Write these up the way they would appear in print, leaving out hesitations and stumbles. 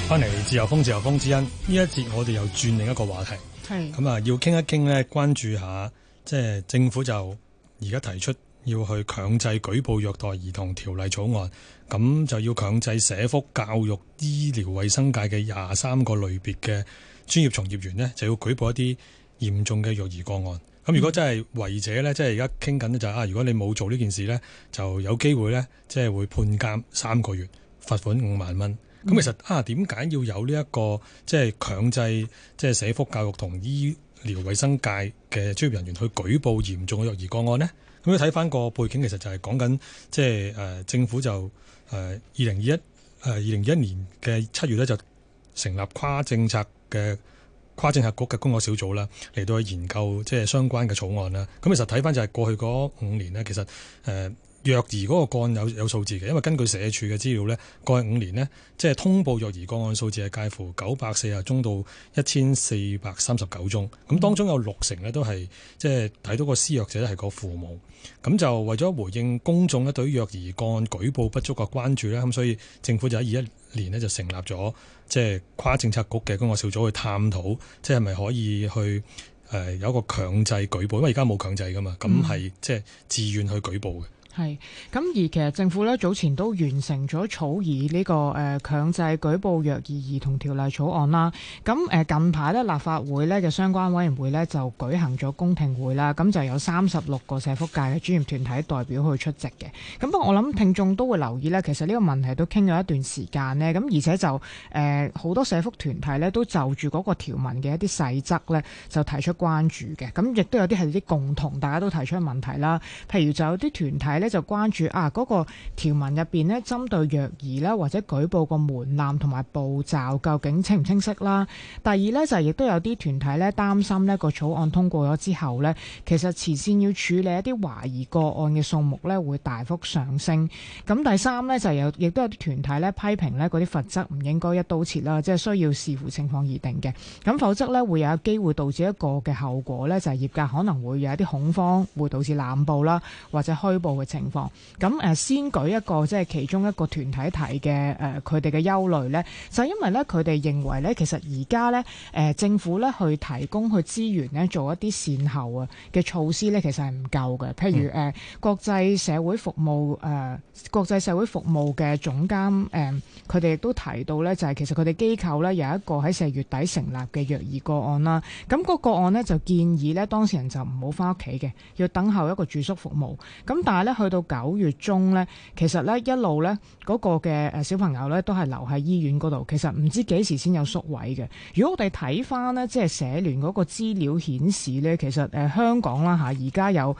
翻嚟自由風之恩呢一節，我哋又轉另一個話題。係咁啊，要傾一傾呢，關注下即係政府就而家提出要去強制舉報虐待兒童條例草案，咁就要強制社福、教育、醫療衛生界嘅23個類別嘅專業從業員呢，就要舉報一啲嚴重嘅虐兒個案。咁如果真係違者呢，即係而家傾緊呢，就係如果你冇做呢件事呢，就有機會呢，即係會判監3個月，罰款5萬蚊。咁其實點解要有呢一個即係強制即係社福、教育同醫療衛生界嘅專業人員去舉報嚴重嘅虐兒個案呢？咁你睇翻個背景，其實就係講緊即係政府就2021年嘅7月咧，就成立跨政策局嘅工作小組啦，嚟到去研究即係相關嘅草案啦。咁其實睇翻就係過去嗰5年呢，其實虐兒嗰個個案有數字嘅，因為根據社署嘅資料呢，過去5年呢，即係通報虐兒個案數字係介乎940宗到1439宗，咁當中有60%呢都係即係睇到個施虐者係個父母，咁就為咗回應公眾呢對於虐兒個案舉報不足嘅關注呢，咁所以政府就喺21年呢就成立咗即係跨政策局嘅工作小組去探討，即係咪可以去有一個強制舉報，因為而家冇強制噶嘛，咁係即係自願去舉報嘅。 係咁，而其實政府咧早前都完成咗草擬呢個強制舉報虐兒兒童條例草案啦。咁近排咧立法會咧嘅相關委員會咧就舉行咗公聽會啦。咁就有36個社福界嘅專業團體代表去出席嘅。咁不過我諗聽眾都會留意咧，其實呢個問題都傾咗一段時間呢。咁而且就好多社福團體咧都就住嗰個條文嘅一啲細則咧就提出關注嘅。咁亦都有啲係啲共同大家都提出嘅問題啦。譬如就有啲團體咧就關注嗰個條文入邊咧，針對虐兒啦或者舉報個門檻同埋步驟究竟清唔清晰啦？第二咧就亦都有啲團體咧擔心呢個草案通過咗之後咧，其實前線要處理一啲懷疑個案嘅數目咧會大幅上升。咁第三咧就亦都有啲團體咧批評咧嗰啲罰則唔應該一刀切啦，即係需要視乎情況而定嘅。咁否則咧會有機會導致一個嘅後果咧，就係業界可能會有一啲恐慌，會導致濫報啦或者虛報嘅情況。咁先舉一個即係其中一個團體提嘅佢哋嘅憂慮呢，就係因為咧佢哋認為咧，其實而家咧政府咧去提供去資源咧做一啲善後嘅措施咧，其實係唔夠嘅。譬如國際社會服務嘅總監佢哋亦都提到咧，就係其實佢哋機構咧有一個喺4月底成立嘅虐兒個案啦。咁個個案呢，就建議咧當事人就唔好翻屋企嘅，要等候一個住宿服務。咁但係咧去到9月中咧，其實咧一路咧嗰個嘅小朋友咧都係留喺醫院嗰度，其實唔知幾時先有宿位嘅。如果我哋睇翻呢，即係社聯嗰個資料顯示咧，其實香港啦而家有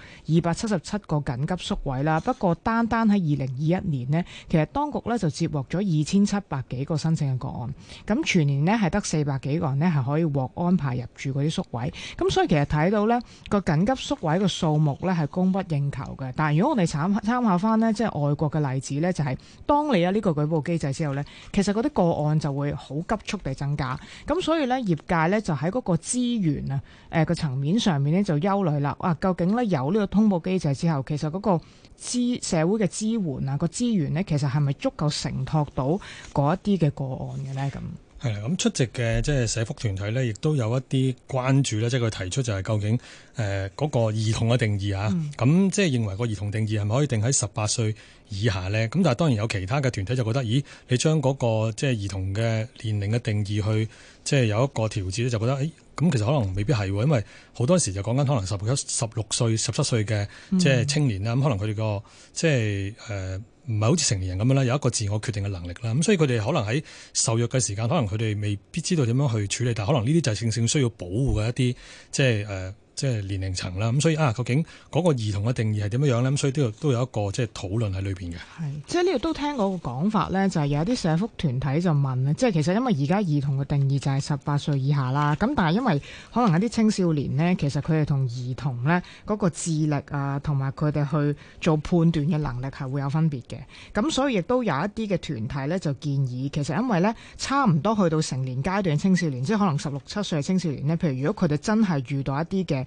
277個緊急宿位啦。不過單喺2021年呢，其實當局咧就接獲咗2700幾個申請嘅個案，咁全年呢係得400幾個人呢係可以獲安排入住嗰啲宿位。咁所以其實睇到呢個緊急宿位嘅數目咧係供不應求嘅。但係如果我哋參考翻呢，即係外國嘅例子呢，就係當你有呢個舉報機制之後呢，其實嗰啲個案就會好急速地增加。咁所以呢，業界呢就喺嗰個資源個層面上面呢就憂慮啦。究竟呢有呢個通報機制之後，其實嗰個社會嘅支援個資源呢，其實係咪足夠承托到嗰一啲嘅個案嘅呢？咁係啦，咁出席嘅即係社福團體咧，亦都有一啲關注咧，即係佢提出就係究竟嗰個兒童嘅定義咁即係認為個兒童定義係咪可以定喺18歲以下咧？咁但係當然有其他嘅團體就覺得，咦，你將嗰個即係兒童嘅年齡嘅定義去即係有一個調節咧，就覺得咁其實可能未必係喎，因為好多時就講緊可能16歲、17歲嘅即係青年啦，咁可能佢哋個即係唔係好似成年人咁樣啦，有一個自我決定嘅能力啦，咁所以佢哋可能喺受虐嘅時間，可能佢哋未必知道點樣去處理，但係可能呢啲就係正正需要保護嘅一啲即係年齡層啦，咁所以究竟嗰個兒童嘅定義係點樣樣咧？咁所以都有一個即係討論喺裏邊嘅。係， 即係呢度都聽過個講法咧，就係有啲社福團體就問咧，即係其實因為而家兒童嘅定義就係18歲以下啦，咁但係因為可能有啲青少年咧，其實佢哋同兒童咧嗰個智力同埋佢哋去做判斷嘅能力係會有分別嘅，咁所以亦都有一啲嘅團體咧就建議，其實因為咧差唔多去到成年階段嘅青少年，即係可能16、17歲嘅青少年咧，譬如如果佢哋真係遇到一啲嘅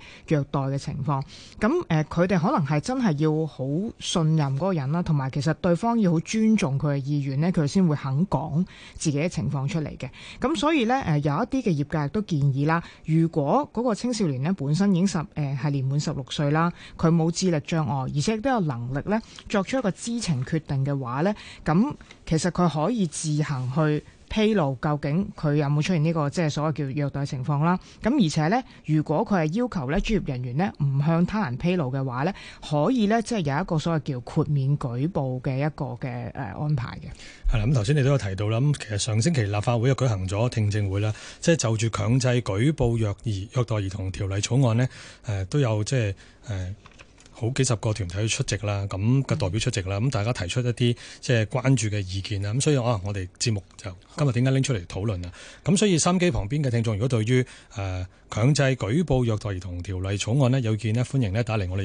虐待嘅情況。咁佢哋可能係真係要好信任嗰個人啦，同埋其實對方要好尊重佢嘅意願呢，佢先會肯講自己嘅情況出嚟嘅。咁所以呢，有一啲嘅業界亦都建議啦，如果嗰個青少年呢本身已經係年滿16歲啦，佢冇智力障礙，而且亦都有能力呢作出一個知情決定嘅話呢，咁其實佢可以自行去披露究竟佢有冇出現呢個即係所謂叫虐待情況啦。咁而且呢，如果佢係要求呢專業人員呢唔向他人披露嘅話呢，可以呢即係有一個所謂叫豁免舉報嘅一個嘅安排嘅。 係啦，咁頭先你都有提到啦。咁其實上星期立法會又舉行咗聽證會啦，即係就住強制舉報虐待兒童條例草案呢，都有即係好幾十個團體出席啦，咁嘅代表出席啦，咁大家提出一啲即係關注嘅意見啦，咁所以我哋節目就今日點解拎出嚟討論啊？咁所以收音機旁邊嘅聽眾，如果對於強制舉報虐待兒童條例草案呢有意見呢，歡迎呢打嚟我哋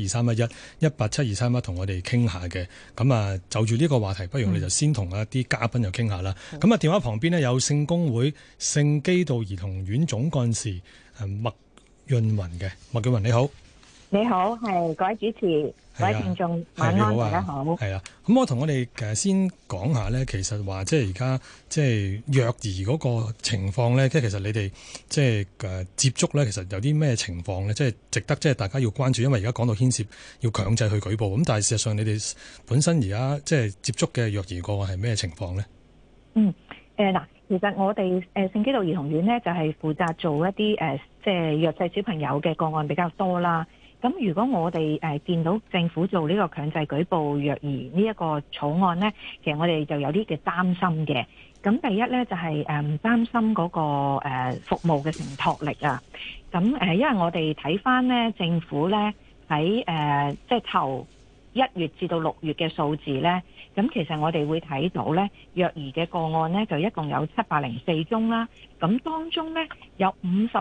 1872311同我哋傾下嘅。咁就住呢個話題，不如我哋就先同一啲嘉賓又傾下啦。咁電話旁邊呢有聖公會聖基道兒童院總幹事麥潤芸嘅。麥潤芸你好。 你好，係各位主持，各位聽眾，晚安，大家好。 係啊，咁我哋先講下咧，其實話即係而家即係虐兒嗰個情況咧，即係其實你哋即係接觸咧，其實有啲咩情況咧，即係值得即係大家要關注，因為而家講到牽涉要強制去舉報，咁但係事實上你哋本身而家即係接觸嘅虐兒個案係咩情況咧？ 嗱，其實我哋聖基道兒童院咧就係負責做一啲即係弱勢小朋友嘅個案比較多啦。咁如果我哋見到政府做呢個強制舉報虐兒呢一個草案呢，其實我哋就有啲嘅擔心嘅。咁第一呢，就係擔心嗰個服務嘅承托力啊。咁因為我哋睇翻呢政府呢喺即係頭1月至到6月嘅數字呢，咁其實我哋會睇到呢虐兒嘅個案呢，就一共有704宗啦。咁當中呢，有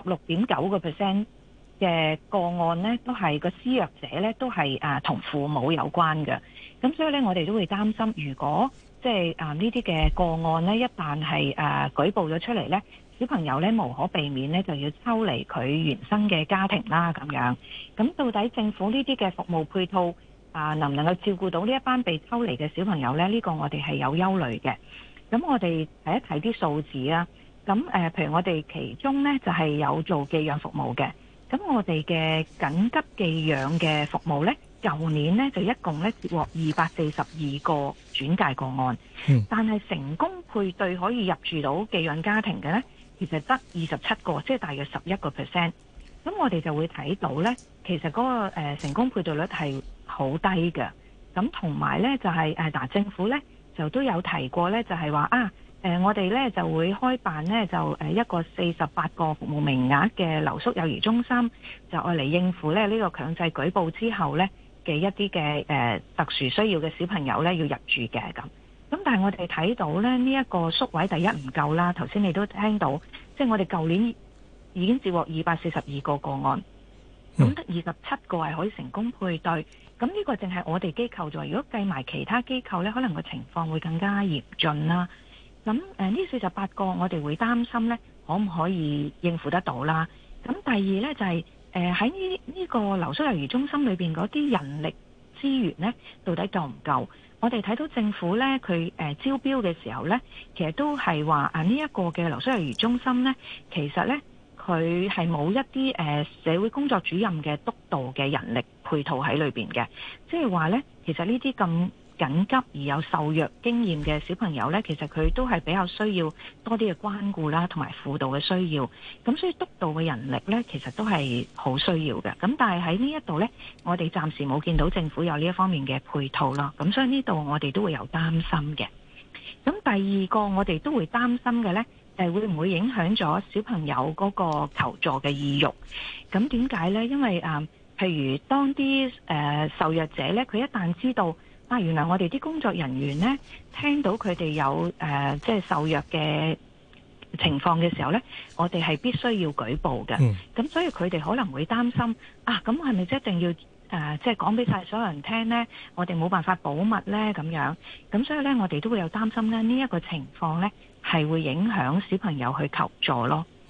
56.9% 嘅個案呢，都係個施虐者呢，都係同父母有關嘅。咁所以呢，我哋都會擔心，如果即係呢啲嘅個案呢，一旦係舉報咗出嚟呢，小朋友呢無可避免呢就要抽離佢原生嘅家庭啦咁樣。咁到底政府呢啲嘅服務配套能唔能夠照顧到呢一班被抽離嘅小朋友呢？呢個我哋係有憂慮嘅。咁我哋睇一睇啲數字啊。咁譬如我哋其中呢，就係有做寄養服務嘅。咁我哋嘅緊急寄養嘅服務呢，舊年呢就一共呢接獲242個轉介個案，但係成功配對可以入住到寄養家庭嘅呢，其實得27個，即係大約11%。咁我哋就會睇到呢，其實嗰個成功配對率係好低嘅。咁同埋呢，就係政府呢就都有提過呢，就係話我哋呢就會開辦呢，就一個48個服務名額嘅留宿幼兒中心，就愛嚟應付呢個強制舉報之後呢嘅一啲嘅特殊需要嘅小朋友呢要入住嘅咁。咁但係我哋睇到呢，呢一個宿位第一唔夠啦，頭先你都聽到，即係我哋舊年已經接獲242個個案，咁得27個係可以成功配對。咁呢個淨係我哋機構做，如果計埋其他機構呢，可能個情況會更加嚴峻啦。咁呢48個我哋會擔心呢，可唔可以應付得到啦？咁第二呢，就係喺呢個留宿幼兒中心裏邊嗰啲人力資源呢，到底夠唔夠？我哋睇到政府呢，佢招標嘅時候呢，其實都係話呢一個嘅留宿幼兒中心呢，其實呢，佢係冇一啲社會工作主任嘅督導嘅人力配套喺裏邊嘅，即係話呢，其實呢啲咁緊急而有受虐經驗嘅小朋友呢，其實佢都係比較需要多啲嘅關顧啦，同埋輔導嘅需要。咁所以督導嘅人力呢，其實都係好需要嘅。咁但係喺呢一度呢，我哋暫時冇見到政府有呢一方面嘅配套啦。咁所以呢度我哋都會有擔心嘅。咁第二個我哋都會擔心嘅呢，會唔會影響咗小朋友嗰個求助嘅意欲？咁點解呢？因為譬如當啲受虐者呢，佢一旦知道原來我哋啲工作人員呢，聽到佢哋有即係受虐嘅情況嘅時候呢，我哋係必須要舉報嘅。咁所以佢哋可能會擔心咁係咪一定要即係講俾晒所有人聽呢？我哋冇辦法保密呢咁樣。咁所以呢，我哋都會有擔心呢，呢一個情況呢係會影響小朋友去求助咯。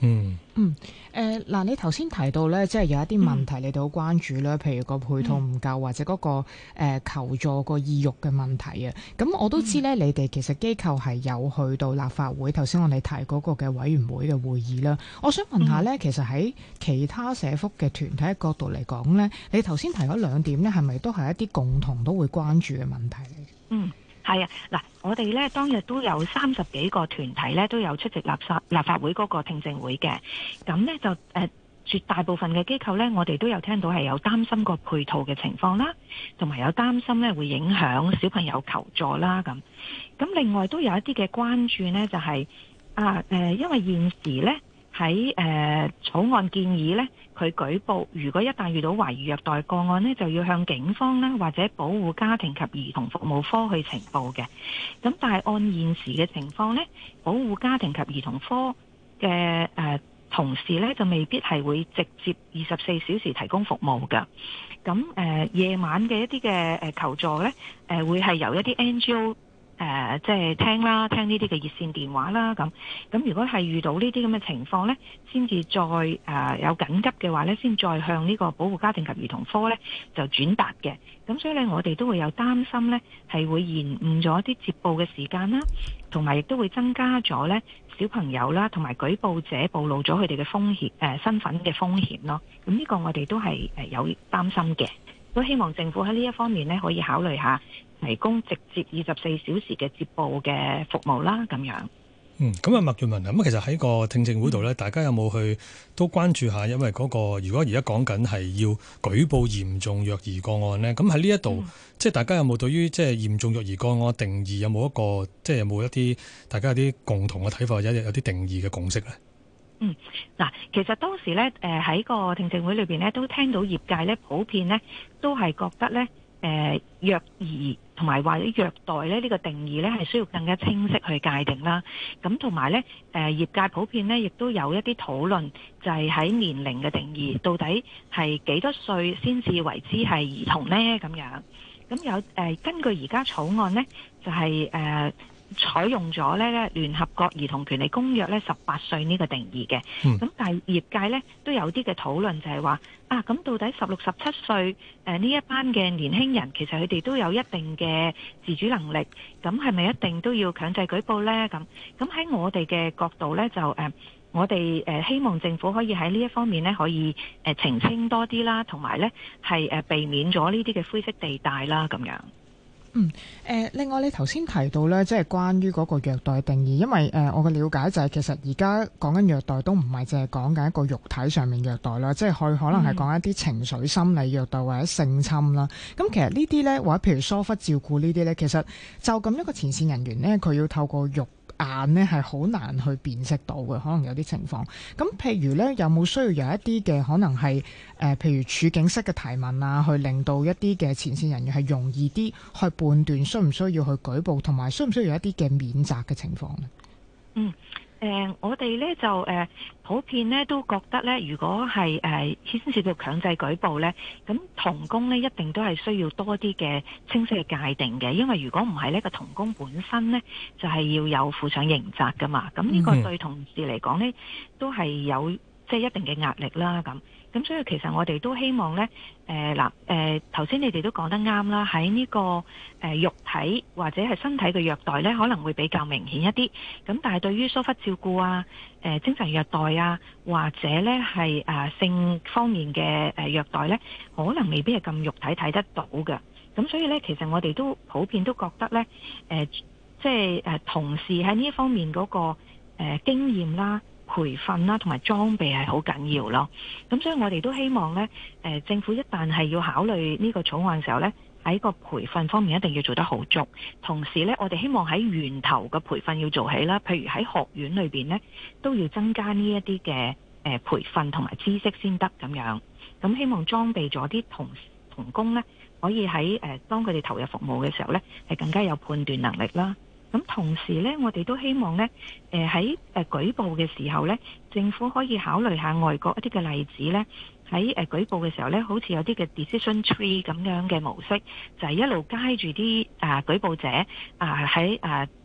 嗱，你頭先提到咧，即係有一啲問題你哋好關注啦，譬如個配套唔夠或者嗰個求助個意欲嘅問題啊。咁我都知咧，你哋其實機構係有去到立法會，頭先我哋提嗰個嘅委員會嘅會議啦。我想問下咧，其實喺其他社福嘅團體嘅角度嚟講咧，你頭先提嗰兩點咧，係咪都係一啲共同都會關注嘅問題嚟？ 係啊，嗱，我哋咧當日都有30幾個團體咧都有出席立法會嗰個聽證會嘅，咁咧就絕大部分嘅機構咧，我哋都有聽到係有擔心個配套嘅情況啦，同埋有擔心咧會影響小朋友求助啦咁。咁另外都有一啲嘅關注呢，就係因為現時咧喺草案建議咧，佢舉報如果一旦遇到懷疑虐待個案呢，就要向警方啦或者保護家庭及兒童服務科去呈報嘅。咁但係按現時嘅情況呢，保護家庭及兒童科嘅同事呢，就未必係會直接24小時提供服務㗎。咁夜晚嘅一啲嘅求助呢，會係由一啲 NGO。即係聽呢啲嘅熱線電話啦，咁如果係遇到呢啲咁嘅情況呢，先至再有緊急嘅話呢，先再向呢個保護家庭及兒童科呢就轉達嘅。咁所以呢，我哋都會有擔心呢，係會延誤咗啲接報嘅時間啦，同埋亦都會增加咗呢小朋友啦，同埋舉報者暴露咗佢哋嘅風險身份嘅風險咯。咁呢個我哋都係有擔心嘅，都希望政府喺呢一方面呢，可以考慮下。提供直接24小時嘅接報嘅服務啦，咁樣。 咁啊，麥潤文啊，咁其實喺個聽證會度咧，大家有冇去都關注下？因為嗰個如果而家講緊係要舉報嚴重虐兒個案咧，咁喺呢一度，即係大家有冇對於即係嚴重虐兒個案定義有冇一個，即係有冇一啲大家有啲共同嘅睇法，或者有啲定義嘅共識咧？ 嗱，其實當時咧，喺個聽證會裏邊咧，都聽到業界咧普遍咧都係覺得咧。虐兒同埋或者虐待咧呢個定義咧係需要更加清晰去界定啦。咁同埋咧業界普遍咧亦都有一啲討論，就係喺年齡嘅定義，到底係幾多歲先至為之係兒童呢？咁樣。咁有根據而家草案呢，就係採用咗咧聯合國兒童權利公約咧18歲呢個定義嘅。咁但係業界咧都有啲嘅討論，就係話咁到底16、17歲呢一班嘅年輕人，其實佢哋都有一定嘅自主能力，咁係咪一定都要強制舉報呢？咁喺我哋嘅角度咧，就我哋希望政府可以喺呢一方面咧，可以澄清多啲啦，同埋咧係避免咗呢啲嘅灰色地帶啦，咁樣。 另外你頭先提到咧，即係關於嗰個虐待定義，因為我嘅了解就係其實而家講緊虐待都唔係淨係講緊一個肉體上面虐待啦，即係可能係講一啲情緒心理虐待或者性侵啦。咁其實呢啲咧，或者譬如疏忽照顧呢啲咧，其實就咁一個前線人員咧，佢要透過肉眼呢係好難去辨識到嘅，可能有啲情況。咁譬如呢，有冇需要有一啲嘅可能係譬如處境式嘅提問啊，去令到一啲嘅前線人員係容易啲去判斷需唔需要去舉報，同埋需唔需要有一啲嘅免責嘅情況呢？ 我哋咧就普遍咧都覺得咧，如果係牽涉到強制舉報咧，咁同工咧一定都係需要多啲嘅清晰嘅界定嘅，因為如果唔係呢個同工本身咧就係要有負上刑責噶嘛，咁呢個對同事嚟講咧都係有即係一定嘅壓力啦咁。咁所以其實我哋都希望呢，頭先你哋都講得啱啦，喺呢個肉體或者係身體嘅虐待呢，可能會比較明顯一啲。咁但係對於疏忽照顧啊、精神虐待啊，或者呢係性方面嘅虐待呢，可能未必係咁肉體睇得到嘅。咁所以呢，其實我哋都普遍都覺得呢，即係同事喺呢一方面嗰個經驗啦、培訓啦，同埋裝備係好緊要咯。咁所以我哋都希望呢，政府一旦係要考慮呢個草案嘅時候呢，喺個培訓方面一定要做得好足。同時呢，我哋希望喺源頭嘅培訓要做起啦。譬如喺學院裏邊呢，都要增加呢一啲嘅培訓同埋知識先得咁樣。咁希望裝備咗啲同工呢，可以喺當佢哋投入服務嘅時候呢，係更加有判斷能力啦。咁同時呢，我哋都希望呢，喺舉報嘅時候呢，政府可以考慮下外國一啲嘅例子呢，喺舉報嘅時候呢，好似有啲嘅 decision tree 咁樣嘅模式，就係一路街住啲舉報者喺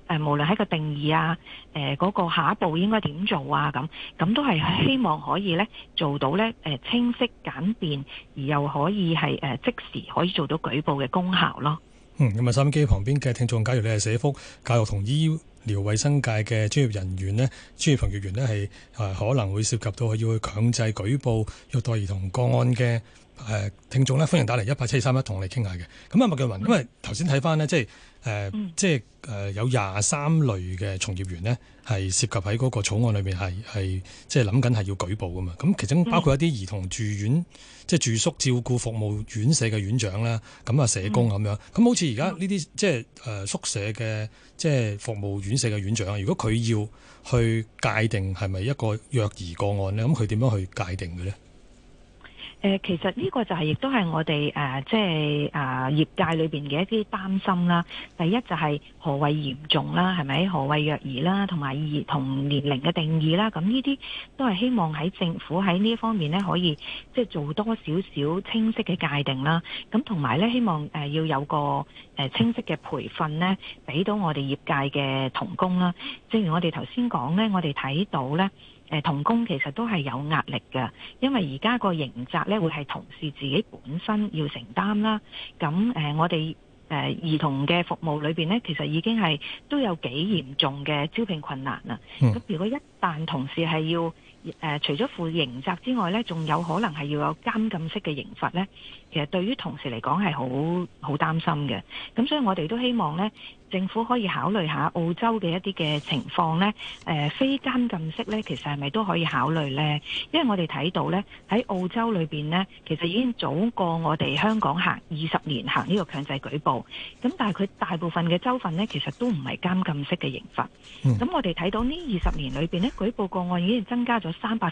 無論喺個定義啊，嗰個下一步應該點做啊，咁都係希望可以咧做到咧清晰簡便，而又可以係即時可以做到舉報嘅功效咯。 咁收音機旁邊嘅聽眾，假如你係社福、教育同醫療衛生界嘅專業人員呢，專業從業員呢，係可能會涉及到要去強制舉報虐待兒童個案嘅聽眾呢，歡迎打嚟18723同我哋傾下嘅。咁麥薊芸，因為頭先睇翻呢，即係有23類嘅從業員呢，係涉及喺嗰個草案裏面係即係諗緊係要舉報噶嘛。咁其中包括一啲兒童住院，即係住宿照顧服務院舍嘅院長啦，咁啊社工咁樣。咁好似而家呢啲即係宿舍嘅即係服務院舍嘅院長，如果佢要去界定係咪一個虐兒個案呢，咁佢點樣去界定嘅呢？ 其實呢個就係亦都係我哋即係業界裏邊嘅一啲擔心啦。第一就係何謂嚴重啦，係咪？何謂虐兒啦，同埋兒童年齡嘅定義啦。咁呢啲都係希望喺政府喺呢一方面呢，可以即係做多少少清晰嘅界定啦。咁同埋呢，希望要有個清晰嘅培訓呢，俾到我哋業界嘅同工啦。正如我哋頭先講呢，我哋睇到呢。同工其實都係有壓力嘅，因為而家個刑責咧會係同事自己本身要承擔啦。咁我哋兒童嘅服務裏邊呢，其實已經係都有幾嚴重嘅招聘困難啦。咁如果一旦同事係要除咗負刑責之外呢，仲有可能係要有監禁式嘅刑罰呢，其實對於同事嚟講係好擔心嘅。咁所以我哋都希望呢，政府可以考慮下澳洲嘅一啲嘅情況呢，非監禁式呢，其實係咪都可以考慮呢？因為我哋睇到呢，喺澳洲裏邊呢，其實已經早過我哋香港行20年行呢個強制舉報。咁但係佢大部分嘅州份呢，其實都唔係監禁式嘅刑罰。咁我哋睇到呢20年裏邊呢，舉報個案已經增加咗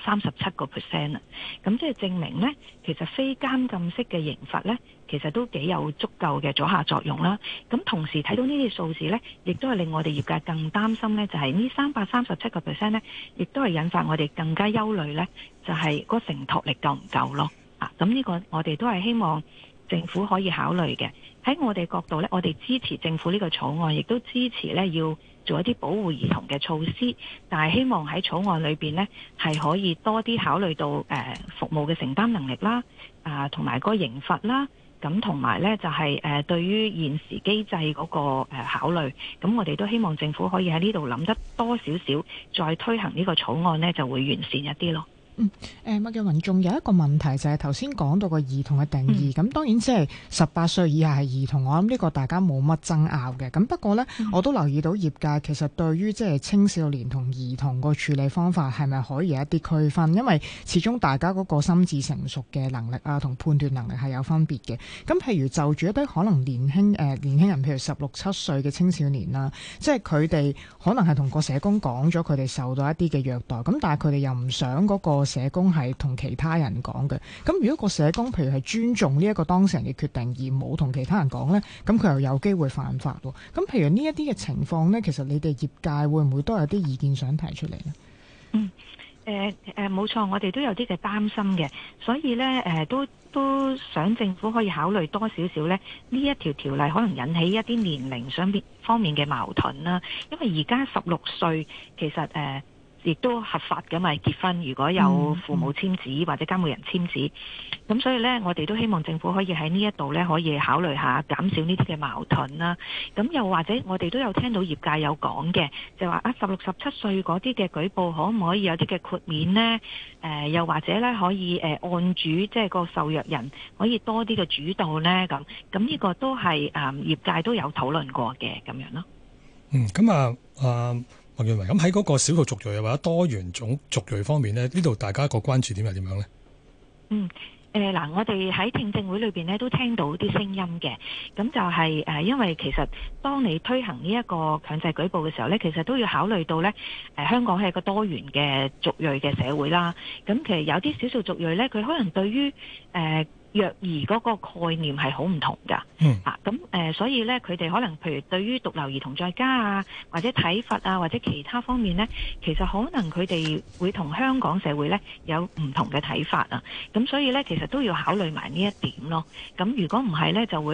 337%啦。咁即係證明呢，其實非監禁式嘅刑罰呢，其實都幾有足夠嘅阻嚇作用啦。咁同時睇到呢啲數字呢，亦都係令我哋業界更擔心呢，就係呢337%呢，亦都係引發我哋更加憂慮呢，就係個承托力夠唔夠咯？咁呢個我哋都係希望政府可以考慮嘅。喺我哋角度呢，我哋支持政府呢個草案，亦都支持呢要做一啲保護兒童嘅措施，但係希望喺草案裏邊呢，係可以多啲考慮到服務嘅承擔能力啦，同埋個刑罰啦，咁同埋呢就係對於現時機制嗰個考慮，咁我哋都希望政府可以喺呢度諗得多少少，再推行呢個草案呢，就會完善一啲咯。 麥薊芸仲有一個問題就係頭先講到個兒童嘅定義，咁當然即係18歲以下係兒童，我諗呢個大家冇乜爭拗嘅。咁不過呢，我都留意到業界其實對於即係青少年同兒童個處理方法係咪可以有一啲區分？因為始終大家嗰個心智成熟嘅能力啊，同判斷能力係有分別嘅。咁譬如就住一啲可能年輕人，譬如16、17歲嘅青少年啦，即係佢哋可能係同個社工講咗佢哋受到一啲嘅虐待，咁但係佢哋又唔想嗰個社工係同其他人講嘅。咁如果個社工譬如係尊重呢一個當事人嘅決定，而冇同其他人講呢，咁佢又有機會犯法喎。咁譬如呢一啲嘅情況呢，其實你哋業界會唔會都有啲意見想提出嚟呢？ 冇錯，我哋都有啲嘅擔心嘅，所以呢，都想政府可以考慮多少少呢一條條例可能引起一啲年齡上方面嘅矛盾啦。因為而家16歲其實亦都合法㗎嘛，結婚如果有父母簽字或者監護人簽字，咁所以呢，我哋都希望政府可以喺呢一度呢，可以考慮下減少呢啲嘅矛盾啦。咁又或者我哋都有聽到業界有講嘅，就話16、17歲嗰啲嘅舉報可唔可以有啲嘅豁免呢？又或者呢，可以案主即係個受虐人可以多啲嘅主導呢？咁呢個都係業界都有討論過嘅咁樣咯。 咁麥薊芸，咁喺嗰個少數族裔或者多元種族裔方面呢，呢度大家個關注點係點樣呢？ 我哋喺聽證會裏邊呢都聽到啲聲音嘅，咁就係因為其實當你推行呢一個強制舉報嘅時候呢，其實都要考慮到呢，香港係一個多元嘅族裔嘅社會啦。咁其實有啲少數族裔呢，佢可能對於虐兒嗰個概念係好唔同㗎。所以呢，佢哋可能譬如對於獨留兒童在家啊，或者體罰啊，或者其他方面呢，其實可能佢哋會同香港社會呢有唔同嘅睇法啊。咁所以呢，其實都要考慮埋呢一點咯。咁如果唔係呢，就會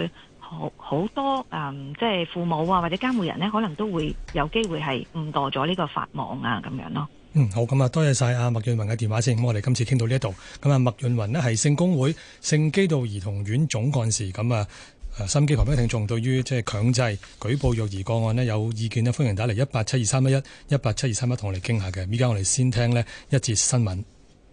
好多即係父母啊或者監護人呢，可能都會有機會係誤墮咗呢個法網啊咁樣咯。 好，咁啊，多謝晒阿麥潤芸嘅電話先。咁我哋今次傾到呢一度。咁啊，麥潤芸呢係聖公會聖基道兒童院總幹事。咁啊，心機旁邊嘅聽眾對於即係強制舉報虐兒個案呢有意見呢，歡迎打嚟1872311 1872311同我哋傾下嘅。依家我哋先聽呢一節新聞。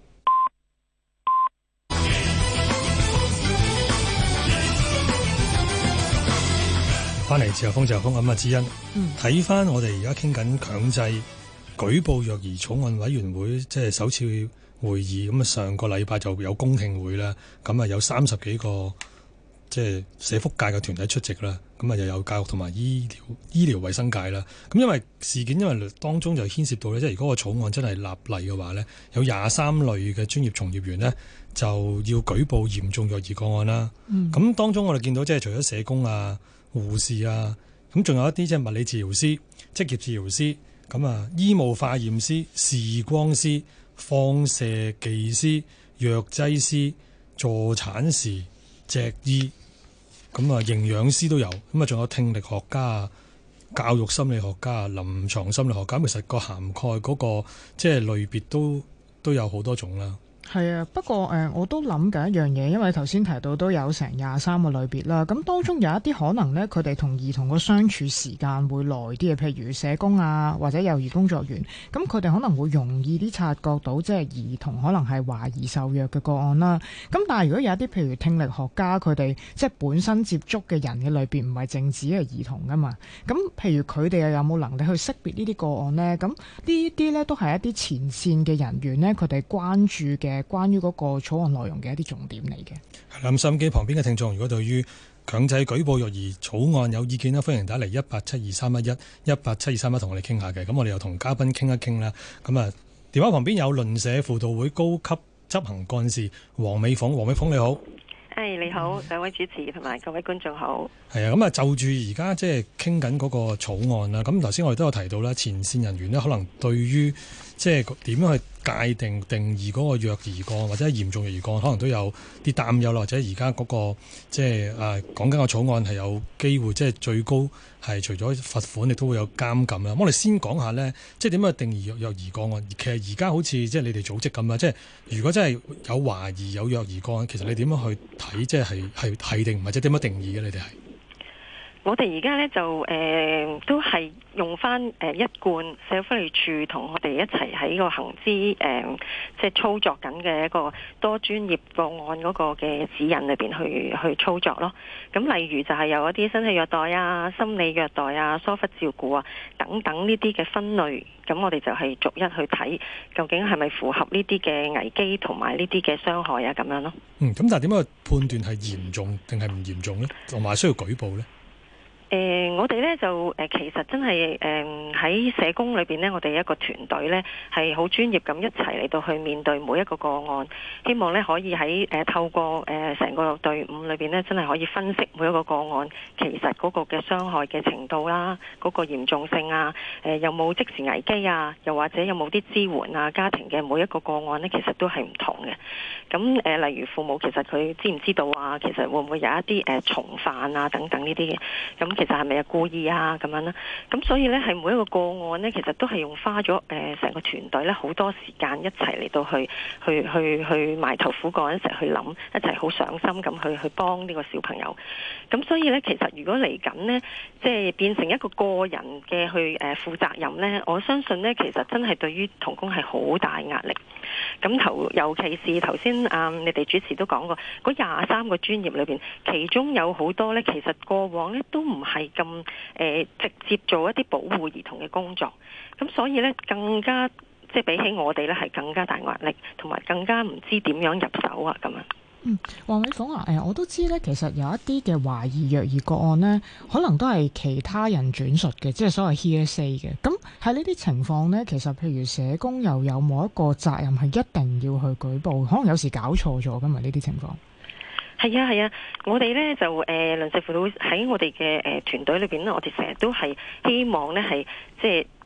翻嚟自由風，咁啊，之欣睇翻我哋而家傾緊強制舉報虐兒草案委員會即係首次會議，咁啊上個禮拜就有公聽會啦，咁啊有30幾個即係社福界嘅團體出席啦，咁啊又有教育同埋醫療衛生界啦，咁因為事件因為當中就牽涉到咧，即係如果個草案真係立例嘅話呢，有23類嘅專業從業員呢，就要舉報嚴重虐兒個案啦，咁當中我哋見到即係除咗社工啊、護士啊，咁仲有一啲即係物理治療師、職業治療師。咁啊，醫務化驗師、視光師、放射技師、藥劑師、助產士、脊醫，咁啊，營養師都有，咁啊，仲有聽力學家啊、教育心理學家啊、臨床心理學家，其實個涵蓋嗰個即係類別都有好多種啦。 係啊，不過我都諗緊一樣嘢，因為頭先提到都有成23個類別啦。咁當中有一啲可能呢，佢哋同兒童個相處時間會耐啲嘅，譬如社工啊，或者幼兒工作員。咁佢哋可能會容易啲察覺到，即係兒童可能係懷疑受虐嘅個案啦。咁但係如果有一啲譬如聽力學家，佢哋即係本身接觸嘅人嘅類別唔係淨止係兒童噶嘛。咁譬如佢哋又有冇能力去識別呢啲個案呢？咁呢啲呢，都係一啲前線嘅人員呢，佢哋關注嘅。關於嗰個草案內容嘅一啲重點嚟嘅。 係啦，咁收音機旁邊嘅聽眾，如果對於強制舉報虐兒草案有意見咧，歡迎打嚟1872311 1872311同我哋傾下嘅。咁我哋又同嘉賓傾一傾啦。咁啊，電話旁邊有鄰舍輔導會高級執行幹事黃美鳳。黃美鳳你好。 你好，兩位主持同埋各位觀眾好。 係啊，咁啊就住而家即係傾緊嗰個草案啦。咁頭先我哋都有提到啦，前線人員呢，可能對於即係點樣去界定義嗰個虐兒個案或者係嚴重虐兒個案，可能都有啲擔憂啦。或者而家嗰個即係講緊個草案係有機會即係最高係除咗罰款，亦都會有監禁啦。我哋先講下呢，即係點樣定義虐兒個案？其實而家好似即係你哋組織咁啊，即係如果真係有懷疑有虐兒個案，其實你點樣去睇？即係定或者點樣定義嘅？你哋係？ 我哋而家咧就都係用翻一貫社會福利署同我哋一齊喺個行之即係操作緊嘅一個多專業個案嗰個嘅指引裏邊去操作咯。咁例如就係有一啲身體虐待啊、心理虐待啊、疏忽照顧啊等等呢啲嘅分類，咁我哋就係逐一去睇究竟係咪符合呢啲嘅危機同埋呢啲嘅傷害啊咁樣咯。 咁但係點樣去判斷係嚴重定係唔嚴重咧？同埋需要舉報咧？ 我哋咧就其實真係喺社工裏邊呢，我哋一個團隊呢係好專業咁一齊嚟到去面對每一個個案，希望呢可以喺透過成個隊伍裏邊呢，真係可以分析每一個個案其實嗰個嘅傷害嘅程度啦，嗰個嚴重性啊，有冇即時危機啊，又或者有冇啲支援啊，家庭嘅每一個個案呢，其實都係唔同嘅。咁例如父母其實佢知唔知道啊？其實會唔會有一啲從犯啊等等呢啲嘅？咁其實係咪係故意啊咁樣啦？咁所以呢，係每一個個案呢，其實都係用花咗成個團隊呢好多時間一齊嚟到去埋頭苦幹，一齊去諗，一齊好上心咁去幫呢個小朋友。咁所以呢，其實如果嚟緊呢，即係變成一個個人嘅去負責任呢，我相信呢，其實真係對於同工係好大壓力。咁尤其是頭先你哋主持都講過，嗰23個專業裏邊，其中有好多呢，其實過往呢都唔係咁直接做一啲保護兒童嘅工作，咁所以呢，更加即係比起我哋呢係更加大壓力，同埋更加唔知點樣入手啊咁樣。 黃美鳳啊，我都知咧，其實有一啲嘅懷疑虐兒個案呢，可能都係其他人轉述嘅，即係所謂 hearsay 嘅。咁喺呢啲情況呢，其實譬如社工又有冇一個責任係一定要去舉報？可能有時搞錯咗㗎嘛，呢啲情況。 係啊，我哋呢就鄰舍輔導喺我哋嘅團隊裏邊呢，我哋成日都係希望呢係即係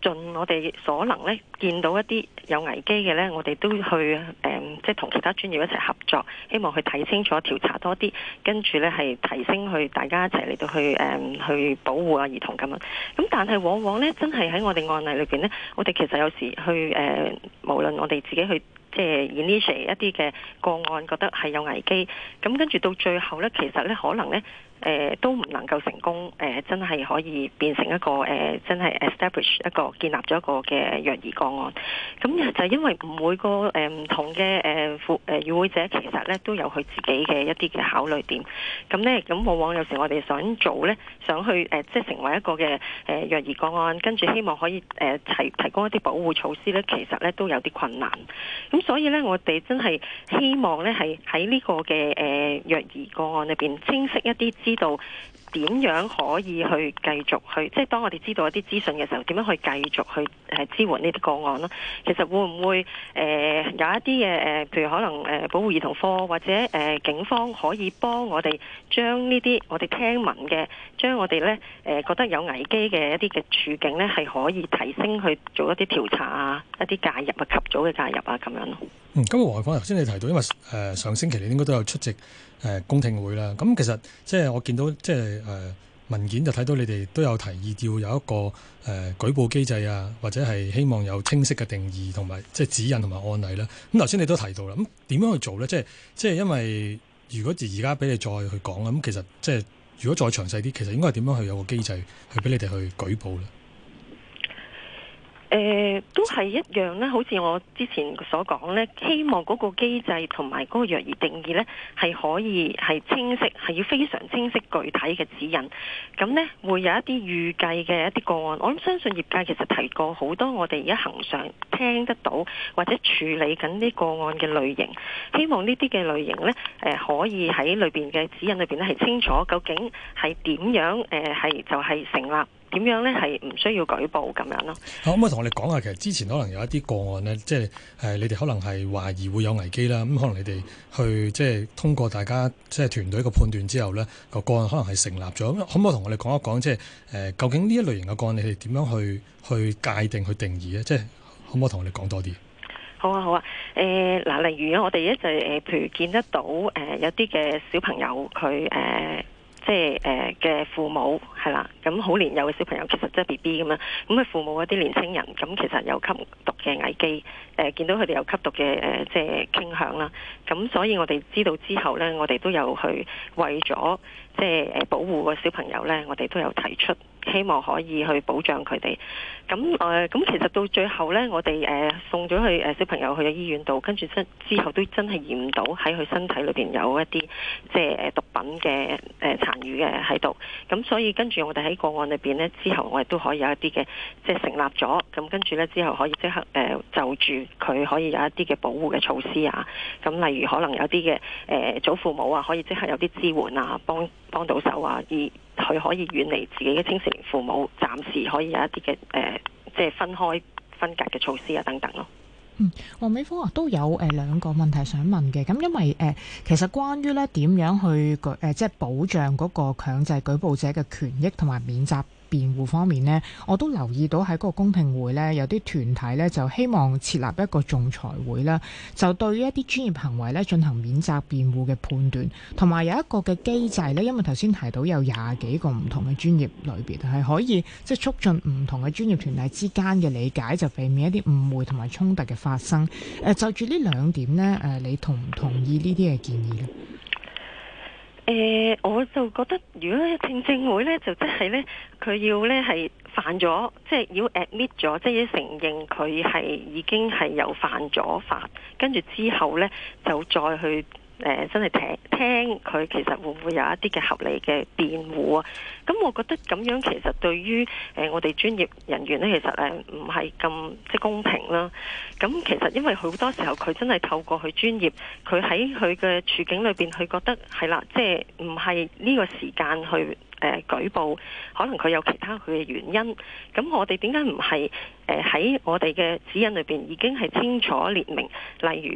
盡我哋所能咧，見到一啲有危機嘅咧，我哋都去即係同其他專業一齊合作，希望去睇清楚、調查多啲，跟住咧係提升去大家一齊嚟到去保護啊兒童咁樣。咁但係往往咧，真係喺我哋案例裏邊咧，我哋其實有時去無論我哋自己去即係 initiate 一啲嘅個案，覺得係有危機，咁跟住到最後咧，其實咧可能咧。都唔能夠成功，真係可以變成一個真係 establish 一個建立咗一個嘅虐兒個案。咁就因為每個唔同嘅與會者其實咧都有佢自己嘅一啲嘅考慮點。咁往往有時我哋想做咧，想去即係成為一個嘅虐兒個案，跟住希望可以提供一啲保護措施咧，其實咧都有啲困難。咁所以咧，我哋真係希望咧係喺呢個嘅虐兒個案裏邊清晰一啲知道點樣可以去繼續去，即係當我哋知道一啲資訊嘅時候，點樣去繼續去支援呢啲個案咯？其實會唔會有一啲嘅譬如可能保護兒童科或者警方可以幫我哋將呢啲我哋聽聞嘅，將我哋咧覺得有危機嘅一啲嘅處境咧，係可以提升去做一啲調查啊，一啲介入啊，及早嘅介入啊，咁樣咯。 咁黃惠芳頭先你提到，因為上星期你應該都有出席公聽會啦。咁其實即係我見到即係文件就睇到你哋都有提議要有一個舉報機制啊，或者係希望有清晰嘅定義同埋即係指引同埋案例啦。咁頭先你都提到啦，咁點樣去做咧？即係因為如果而家俾你再去講咁其實即係如果再詳細啲，其實應該係點樣去有個機制去俾你哋去舉報咧？ 都係一樣咧，好似我之前所講咧，希望嗰個機制同埋嗰個虐兒定義咧係可以係清晰，係要非常清晰具體嘅指引。咁呢會有一啲預計嘅一啲個案，我諗相信業界其實提過好多我哋而家恒常聽得到或者處理緊呢個案嘅類型，希望呢啲嘅類型呢可以喺裏邊嘅指引裏邊咧係清楚究竟係點樣係就係成立。點樣呢？係唔需要舉報咁樣咯。 可唔可以同我哋講下，其實之前可能有一啲個案呢，即係你哋可能係懷疑會有危機啦。咁可能你哋去即係通過大家即係團隊嘅判斷之後呢，個案可能係成立咗。可唔可以同我哋講一講，即係究竟呢一類型嘅個案，你哋點樣去界定、去定義呢？即係可唔可以同我哋講多啲？ 好啊，好啊。例如我哋咧就譬如見得到有啲嘅小朋友佢即係嘅父母係啦，咁好年幼嘅小朋友其實即係 BB 咁樣，咁佢父母一啲年青人，咁其實有吸毒嘅危機，見到佢哋有吸毒嘅即係傾向啦，咁所以我哋知道之後呢，我哋都有去為咗即係保護個小朋友呢，我哋都有提出希望可以去保障佢哋。咁其實到最後呢，我哋送咗去小朋友去咗醫院度，跟住之後都真係驗唔到喺佢身體裏邊有一啲即係毒品嘅殘餘嘅喺度。咁所以跟住我哋喺個案裏邊呢，之後我哋都可以有一啲嘅即係成立咗。咁跟住呢，之後可以即刻就住佢可以有一啲嘅保護嘅措施啊。咁例如可能有啲嘅祖父母啊，可以即刻有啲支援啊，幫到手啊，而佢可以遠離自己嘅青少年父母，暫時可以有一啲嘅即係分隔嘅措施啊等等咯。 黃美芳都有兩個問題想問嘅。咁因為其實關於咧點樣去即係保障嗰個強制舉報者嘅權益同埋免責辯護方面呢，我都留意到喺嗰個公聽會呢，有啲團體呢就希望設立一個仲裁會啦，就對於一啲專業行為呢進行免責辯護嘅判斷，同埋有一個嘅機制呢，因為頭先提到有20幾個唔同嘅專業類別係可以即係促進唔同嘅專業團體之間嘅理解，就避免一啲誤會同埋衝突嘅發生。就住呢兩點呢，你同唔同意呢啲嘅建議呢？ 我就覺得如果聽會呢，就即係呢，佢要呢係犯咗，即係要 admit 咗，即係要承認佢係已經係有犯咗法，跟住之後呢，就再去真係聽佢其實會唔會有一啲嘅合理嘅辯護啊？咁我覺得咁樣其實對於我哋專業人員呢，其實唔係咁即係公平啦。咁其實因為好多時候佢真係透過佢專業，佢喺佢嘅處境裏邊，佢覺得係啦，即係唔係呢個時間去舉報，可能佢有其他佢嘅原因。咁我哋點解唔係喺我哋嘅指引裏邊已經係清楚列明，例如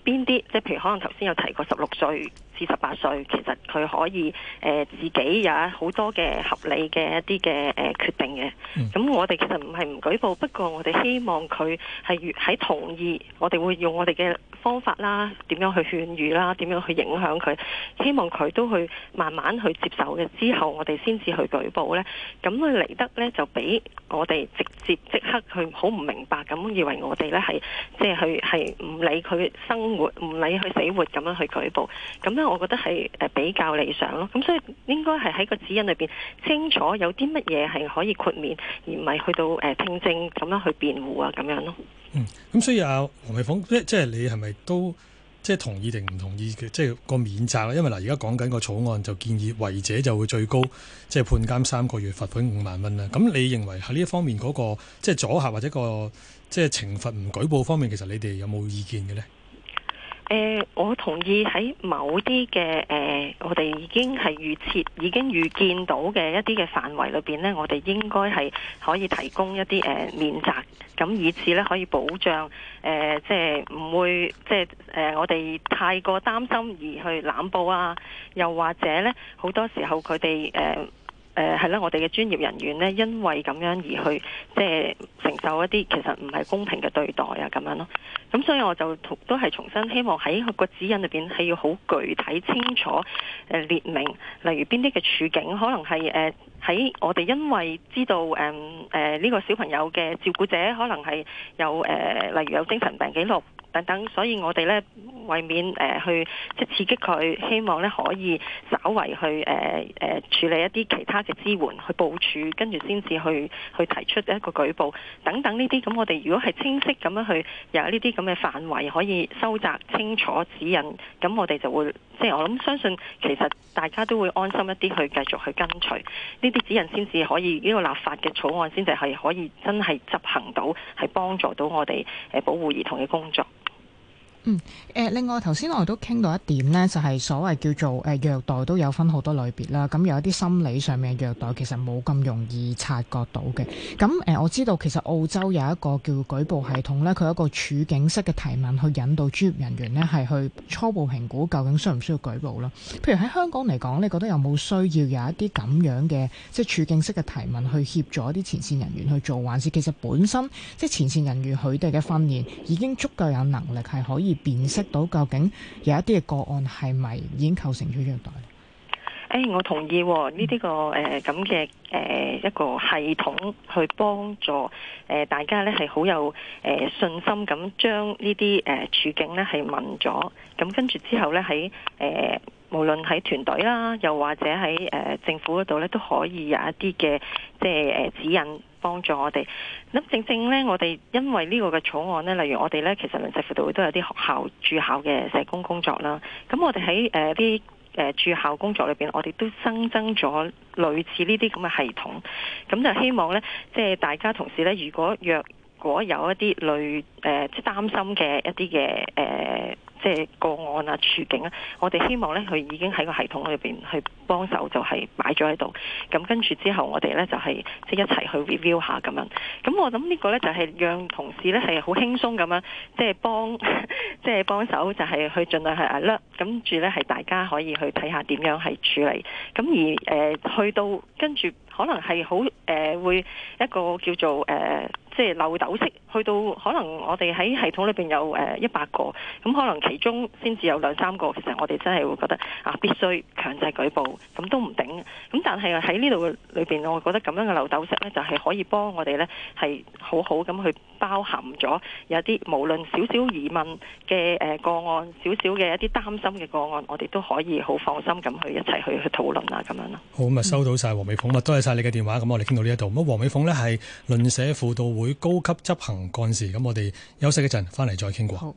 邊啲，即係譬如可能頭先有提過16歲至18歲，其實佢可以自己有好多嘅合理嘅一啲嘅決定嘅。咁我哋其實唔係唔舉報，不過我哋希望佢係喺同意，我哋會用我哋嘅方法啦，點樣去勸喻啦，點樣去影響佢，希望佢都去慢慢去接受嘅之後，我哋先至去舉報呢。咁佢嚟得呢，就俾我哋直接即刻去好唔明白咁，以為我哋呢係即係係唔理佢生活，唔理佢死活咁樣去舉報。咁呢，我覺得係比較理想咯。咁所以應該係喺個指引裏邊清楚有啲乜嘢係可以豁免，而唔係去到聽證咁樣去辯護啊咁樣咯。 咁所以黃美鳳，即係你係咪都即係同意定唔同意嘅？即係個免責啦。因為嗱，而家講緊個草案就建議違者就會最高即係判監3個月，罰款5萬蚊啦。咁你認為喺呢一方面嗰個即係阻嚇或者個即係懲罰唔舉報方面，其實你哋有冇意見嘅呢？ 我同意喺某啲嘅我哋已經係已經預見到嘅一啲嘅範圍裏邊呢，我哋應該係可以提供一啲免責，咁以此呢可以保障即係唔會即係我哋太過擔心而去濫報啊，又或者呢好多時候佢哋係啦，我哋嘅專業人員呢，因為咁樣而去即係承受一啲其實唔係公平嘅對待啊，咁樣咯。咁所以我就都係重新希望喺個指引裏邊係要好具體清楚列明，例如邊啲嘅處境，可能係喺我哋因為知道呢個小朋友嘅照顧者可能係有例如有精神病記錄等等，所以我哋呢為免去即係刺激佢，希望呢可以稍為去處理一啲其他嘅支援，去部署，跟住先至去提出一個舉報等等呢啲。咁我哋如果係清晰咁樣去有呢啲咁嘅範圍可以收窄清楚指引，咁我哋就會即係我諗相信其實大家都會安心一啲去繼續去跟隨呢啲指引，先至可以呢個立法嘅草案先至係可以真係執行到，係幫助到我哋保護兒童嘅工作。 另外頭先我哋都傾到一點呢，就係所謂叫做虐待都有分好多類別啦。咁有一啲心理上面嘅虐待其實冇咁容易察覺到嘅。咁我知道其實澳洲有一個叫舉報系統呢，佢有一個處境式嘅提問去引導專業人員呢係去初步評估究竟需唔需要舉報啦。譬如喺香港嚟講，你覺得有冇需要有一啲咁樣嘅即係處境式嘅提問去協助一啲前線人員去做，還是其實本身即係前線人員佢哋嘅訓練已經足夠有能力係可以辨識到究竟有一啲嘅個案係咪已經構成咗虐待？ 我同意呢啲個咁嘅一個系統去幫助大家呢係好有信心咁將呢啲處境呢係問咗，咁跟住之後呢喺無論喺團隊啦，又或者喺政府嗰度呢，都可以有一啲嘅即係指引幫助我哋。咁正正呢，我哋因為呢個嘅草案呢，例如我哋呢，其實鄰舍輔導會都有啲學校駐校嘅社工工作啦。咁我哋喺啲駐校工作裏邊，我哋都新增咗類似呢啲咁嘅系統。咁就希望呢，即係大家同事呢，如果有一啲類即係擔心嘅一啲嘅即係個案啊處境啊，我哋希望呢，佢已經喺個系統裏邊去幫手，就係擺咗喺度。咁跟住之後，我哋呢就係即係一齊去 review 下咁樣。咁我諗呢個呢，就係讓同事呢係好輕鬆咁樣，即係幫手，就係去盡量係 alert。跟住呢係大家可以去睇下點樣係處理。咁而去到跟住可能係好會一個叫做即係漏斗式，去到可能我哋喺系統裏邊有100個，咁可能其中先至有2-3個，其實我哋真係會覺得必須強制舉報，咁都唔頂。咁但係喺呢度裏邊，我覺得咁樣嘅漏斗式呢，就係可以幫我哋呢係好好咁去包含咗有啲無論少少疑問嘅個案，少少嘅一啲擔心嘅個案，我哋都可以好放心咁去一齊去討論啊咁樣咯。 好，咁收到晒黃美鳳，多謝晒你嘅電話。咁我哋傾到呢一度。咁黃美鳳呢係鄰舍輔導會高級執行幹事。咁我哋休息一陣，翻嚟再傾過。好，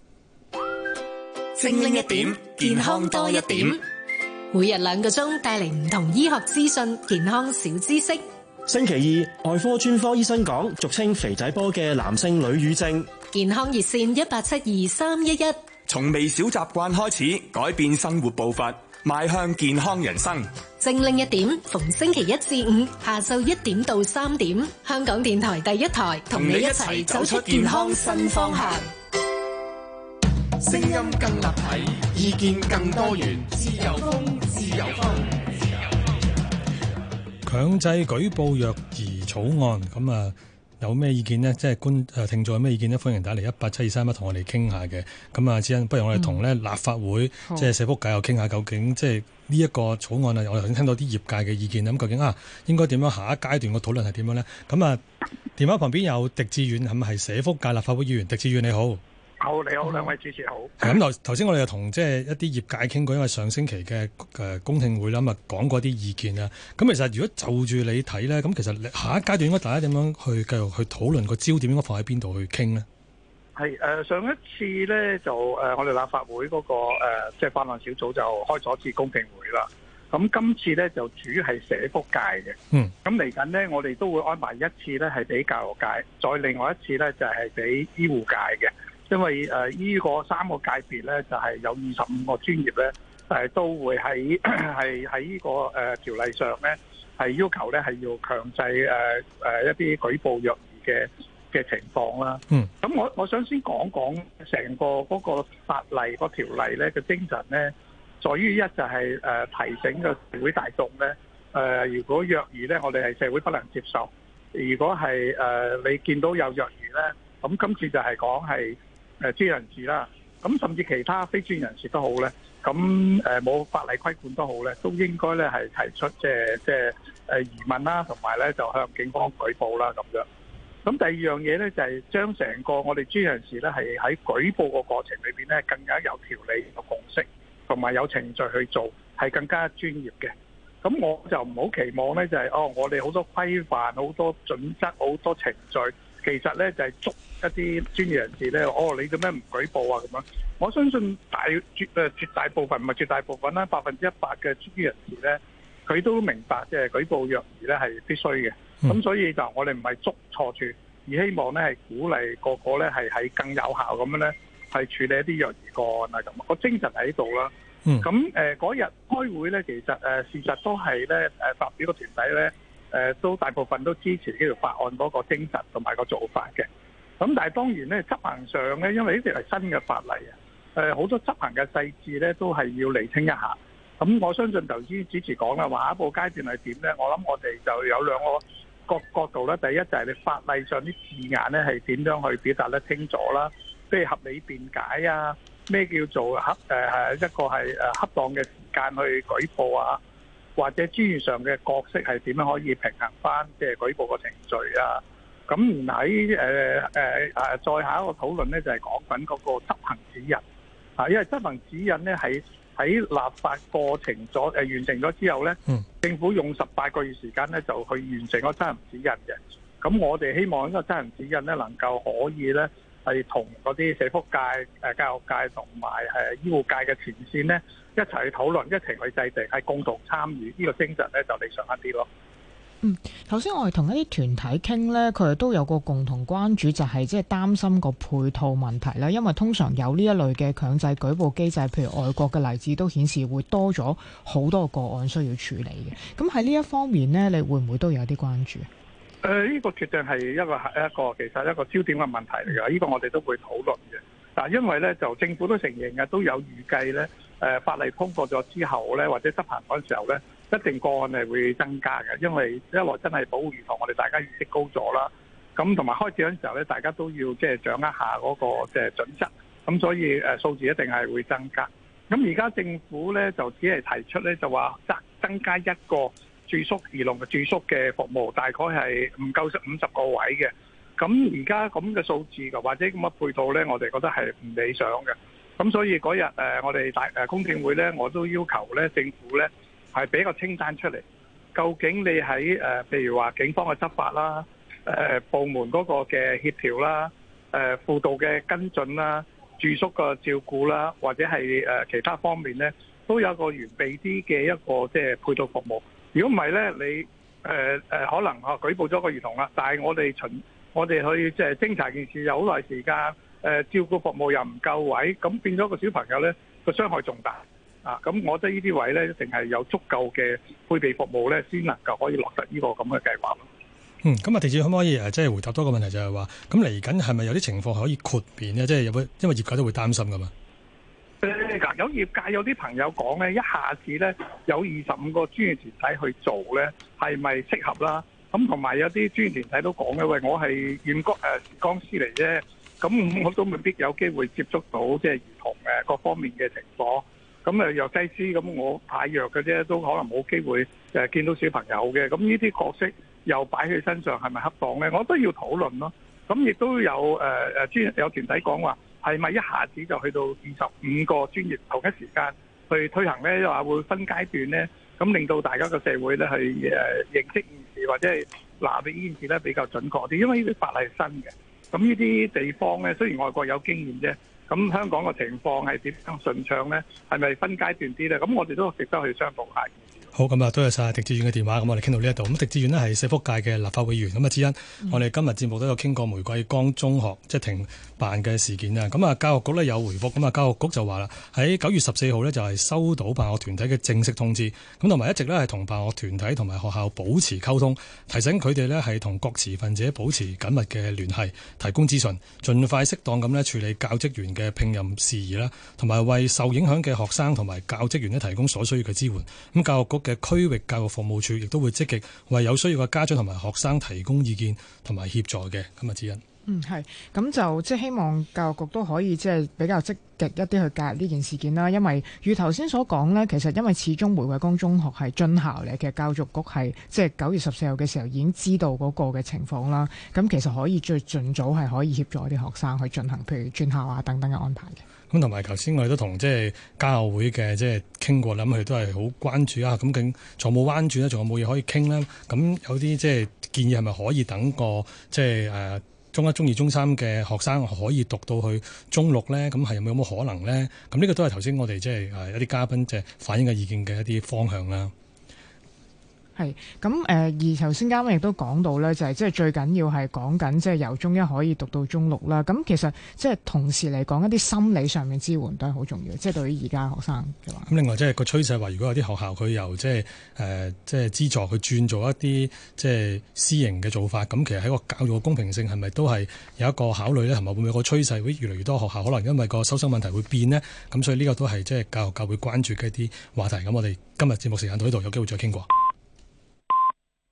精靈一點，健康多一點。每日2個鐘帶嚟唔同醫學資訊、健康小知識。 星期二，外科專科醫生講俗稱肥仔波嘅男性女乳症。 健康熱線1872-311。 從微小習慣開始，改變生活步伐，邁向健康人生。 精靈一點，逢星期1至5下晝1點到3點，香港電台第一台同你一齊走出健康新方向。 聲音更立體，意見更多元，自由風，自由風。 強制舉報虐兒草案，咁啊有咩意見呢？即係聽眾有咩意見呢？歡迎打嚟18723同我哋傾下嘅。咁啊，之恩，不如我哋同咧立法會即係社福界又傾下，究竟即係呢一個草案啊，我頭先聽到啲業界嘅意見，咁究竟應該點樣下一階段個討論係點樣呢？咁啊，電話旁邊有狄志遠，係咪係社福界立法會議員？狄志遠你好。 好，你好，兩位主持好。 咁頭先我哋又同即係一啲業界傾過，因為上星期嘅公聽會啦，咁啊講過啲意見啊。咁其實如果就住你睇咧，咁其實下一階段應該大家點樣去繼續去討論，個焦點應該放喺邊度去傾呢？ 係上一次咧就我哋立法會嗰個即係法案小組就開咗一次公聽會啦。咁今次咧就主要係社福界嘅。咁嚟緊咧，我哋都會安排一次咧係俾教育界，再另外一次咧就係俾醫護界嘅。因為呢個3個界別咧，就係有25個專業咧，都會喺呢個條例上咧，係要求咧係要強制一啲舉報虐兒嘅情況啦。咁我想先講講成個嗰個法例個條例咧嘅精神咧，在於一就係提醒個社會大眾咧，如果虐兒咧，我哋係社會不能接受。如果係你見到有虐兒咧，咁今次就係講係專業人士啦，咁甚至其他非專業人士都好咧，咁冇法例規管都好咧，都應該咧係提出即係疑問啦，同埋咧就向警方舉報啦咁樣。咁第二樣嘢咧就係將成個我哋專業人士咧係喺舉報個過程裏邊咧更加有條理、有共識，同埋有程序去做，係更加專業嘅。咁我就唔好期望咧就係我哋好多規範、好多準則、好多程序。其實咧就係捉一啲專業人士咧，你做咩唔舉報啊？咁樣，我相信絕大部分唔係絕大部分啦，100%嘅專業人士咧，佢都明白即係舉報虐兒咧係必須嘅。咁所以就我哋唔係捉錯處，而希望咧係鼓勵個個咧係喺更有效咁樣咧係處理一啲虐兒個案啊咁。個精神喺度啦。咁嗰日開會咧，其實事實都係咧發表個團體咧。都大部分都支持呢條法案嗰個精神同埋個做法嘅。咁但係當然咧，執行上咧，因為呢條係新嘅法例啊，好多執行嘅細節咧都係要釐清一下。咁我相信頭先主持講啦，話下一步階段係點咧？我諗我哋就有兩個角度啦。第一就係你法例上啲字眼咧係點樣去表達得清楚啦，譬如合理辯解啊，咩叫做一個係恰當嘅時間去舉報啊，或者專業上嘅角色係點樣可以平衡翻即係舉報個程序啊？咁喺再下一個討論咧，就係講緊嗰個執行指引啊，因為執行指引咧喺立法過程完成咗之後咧，政府用18個月時間咧就去完成個執行指引嘅。咁我哋希望呢個執行指引咧能夠可以咧係同嗰啲社福界、教育界同埋醫護界嘅前線咧一齊去討論，一齊去制定，係共同參與，呢個精神咧就理想一啲咯。 頭先我哋同一啲團體傾咧，佢哋都有個共同關注，就係即係擔心個配套問題啦。因為通常有呢一類嘅強制舉報機制，譬如外國嘅例子都顯示會多咗好多個案需要處理嘅。咁喺呢一方面咧，你會唔會都有啲關注？ 呢個決定係一個其實一個焦點嘅問題嚟㗎。呢個我哋都會討論嘅。但因為咧就政府都承認嘅，都有預計咧法例通過咗之後咧，或者執行嗰陣時候咧，一定個案係會增加嘅。因為一來真係保護兒童，我哋大家意識高咗啦。咁同埋開始嗰陣時候咧，大家都要即係掌握下嗰個即係準則。咁所以數字一定係會增加。咁而家政府咧就只係提出咧就話增加一個住宿兒童嘅住宿嘅服務，大概係唔夠50個位嘅。咁而家咁嘅數字嘅或者咁嘅配套咧，我哋覺得係唔理想嘅。咁所以嗰日我哋公聽會咧，我都要求咧政府咧係俾個清單出嚟，究竟你喺譬如話警方嘅執法啦、部門嗰個嘅協調啦、輔導嘅跟進啦、住宿嘅照顧啦，或者係其他方面咧，都有個完備啲嘅一個即係配套服務。如果唔係咧，你可能舉報咗個兒童啦，但係我哋去即係偵查件事有好耐時間，照顧服務又唔夠位，咁變咗個小朋友咧個傷害仲大啊！咁我覺得呢啲位咧一定係有足夠嘅配備服務咧，先能夠可以落實呢個咁嘅計劃咯。 咁啊，狄志遠可唔可以即係回答多個問題，就係話咁嚟緊係咪有啲情況係可以豁免咧？即係因為業界都會擔心噶嘛。 有業界有啲朋友講咧，一下子咧有25個專業團體去做咧，係咪適合啦？咁同埋有啲專業團體都講嘅，喂，我係驗光師嚟啫，咁我都未必有機會接觸到即係兒童各方面嘅情況。咁藥劑師，咁我派藥嘅啫，都可能冇機會見到小朋友嘅。咁呢啲角色又擺喺身上係咪恰當咧？我都要討論咯。咁亦都有有團體講話，係咪一下子就去到25個專業同一時間去推行咧？話會分階段咧，咁令到大家個社會咧係認識件事或者係拿俾呢件事咧比較準確啲，因為呢啲法例係新嘅。咁呢啲地方咧，雖然外國有經驗啫，咁香港嘅情況係點樣順暢咧？係咪分階段啲咧？咁我哋都值得去商討下。 好，咁啊，多謝晒狄志遠嘅電話，咁我哋傾到呢一度。咁狄志遠呢係社福界嘅立法會議員，咁啊，之一，我哋今日節目都有傾過玫瑰崗中學即係停辦嘅事件啊。咁啊，教育局呢有回覆，咁啊，教育局就話啦，喺9月14號呢就係收到辦學團體嘅正式通知，咁同埋一直呢係同辦學團體同埋學校保持溝通，提醒佢哋呢係同各持份者保持緊密嘅聯繫，提供資訊，盡快適當咁呢處理教職員嘅聘任事宜啦，同埋為受影響嘅學生同埋教職員呢提供所需要嘅支援。咁教育局嘅區域教育服務處亦都會積極為有需要嘅家長同埋學生提供意見同埋協助嘅。咁啊，之一。 係，咁就即係希望教育局都可以即係比較積極一啲去介入呢件事件啦。因為如頭先所講呢，其實因為始終玫瑰崗中學係津校嚟嘅，教育局係即係9月14號嘅時候已經知道嗰個嘅情況啦。咁其實可以最盡早係可以協助啲學生去進行譬如轉校啊等等嘅安排嘅。 咁同埋頭先我哋都同即係家學會嘅即係傾過啦，咁佢哋都係好關注啊。咁究竟仲有冇彎轉咧？仲有冇嘢可以傾咧？咁有啲即係建議係咪可以等個即係中1、中2、中3嘅學生可以讀到去中6咧？咁係有冇可能咧？咁呢個都係頭先我哋即係一啲嘉賓即係反映嘅意見嘅一啲方向啦。 係咁而頭先嘉賓亦都講到咧，就係即係最緊要係講緊即係由中1可以讀到中6啦。咁其實即係同時嚟講，一啲心理上面支援都係好重要，即係對於而家學生嘅話。咁另外即係個趨勢話，如果有啲學校佢由即係資助去轉做一啲即係私營嘅做法，咁其實喺個教育嘅公平性係咪都係有一個考慮咧？同埋會唔會有個趨勢會越嚟越多學校可能因為個收生問題會變呢？咁所以呢個都係即係教育界會關注嘅一啲話題。咁我哋今日節目時間到呢度，有機會再傾過。